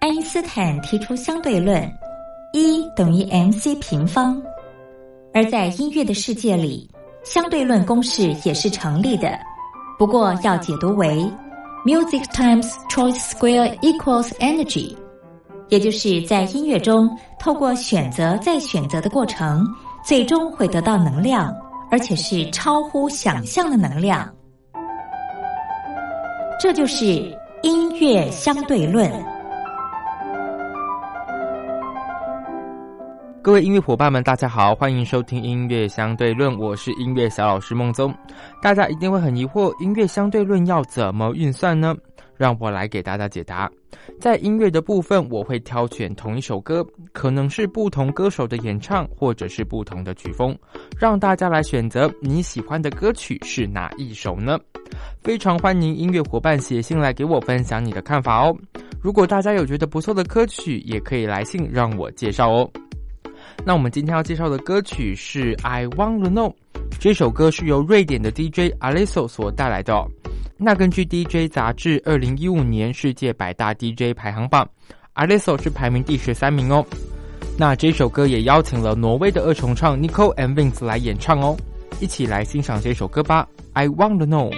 爱因斯坦提出相对论，E等于 mc 平方。而在音乐的世界里，相对论公式也是成立的，不过要解读为 music times choice square equals energy， 也就是在音乐中透过选择再选择的过程，最终会得到能量，而且是超乎想象的能量。这就是音乐相对论。 各位音乐伙伴们大家好，欢迎收听音乐相对论，我是音乐小老师孟宗。大家一定会很疑惑，音乐相对论要怎么运算呢？让我来给大家解答。在音乐的部分，我会挑选同一首歌，可能是不同歌手的演唱，或者是不同的曲风，让大家来选择你喜欢的歌曲是哪一首呢？非常欢迎音乐伙伴写信来给我分享你的看法哦。如果大家有觉得不错的歌曲，也可以来信让我介绍哦。那我们今天要介绍的歌曲是 I Want to Know， 这首歌是由瑞典的 DJ Alesso 所带来的哦。那根据 DJ 杂志2015年世界百大 DJ 排行榜， Alesso 是排名第13名哦。那这首歌也邀请了挪威的二重唱 Nico and Vince 来演唱哦，一起来欣赏这首歌吧， I Want to Know。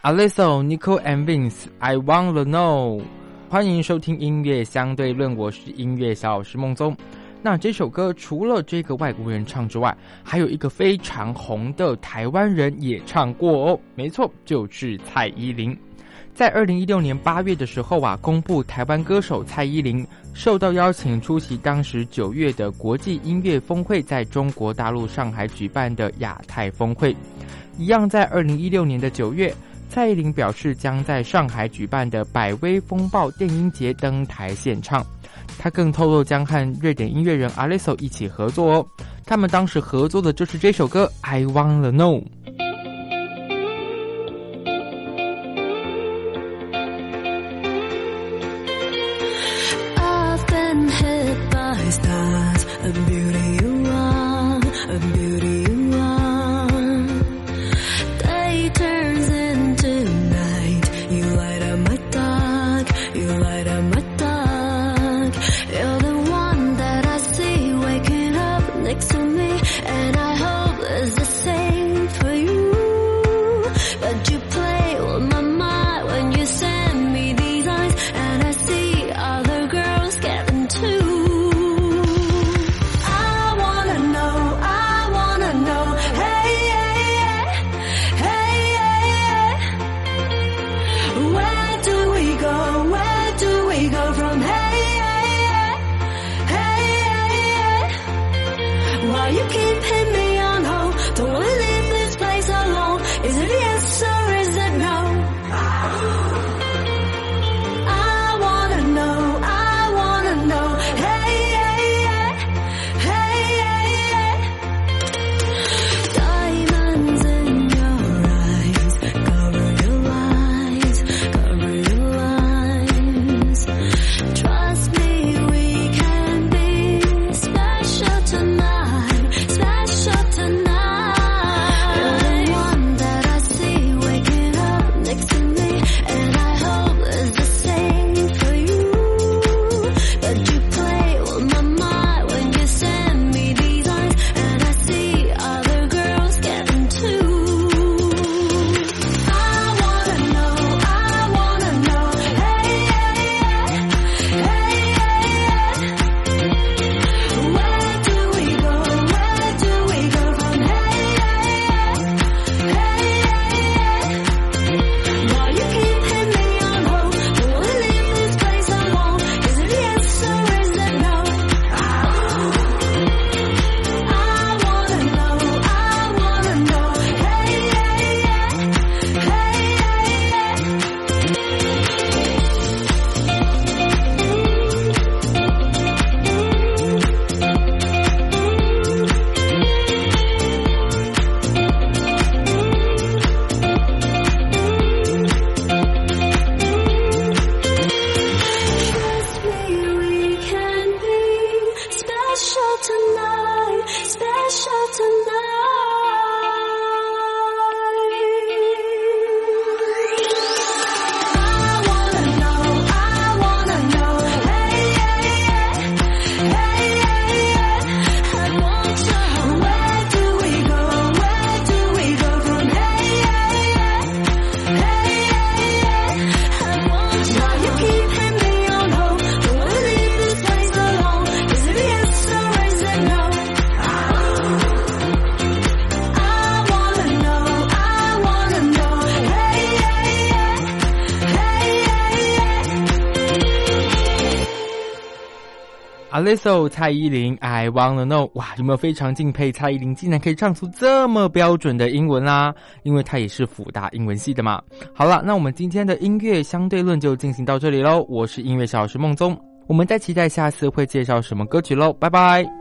Alesso, Nico and Vince, I Wanna Know。 欢迎收听音乐相对论，我是音乐小老师孟宗。那这首歌除了这个外国人唱之外，还有一个非常红的台湾人也唱过哦，没错，就是蔡依林。在2016年8月的时候啊，公布台湾歌手蔡依林受到邀请出席当时9月的国际音乐峰会，在中国大陆上海举办的亚太峰会。一样在2016年的9月，蔡依林表示将在上海举办的百威风暴电音节登台献唱。他更透露将和瑞典音乐人 Alesso 一起合作哦，他们当时合作的就是这首歌 I Wanna Know。Alesso 蔡依林 I Wanna Know。 哇，有没有非常敬佩蔡依林竟然可以唱出这么标准的英文啦？因为她也是辅大英文系的嘛。好了，那我们今天的音乐相对论就进行到这里咯，我是音乐小老师孟宗，我们再期待下次会介绍什么歌曲咯，拜拜。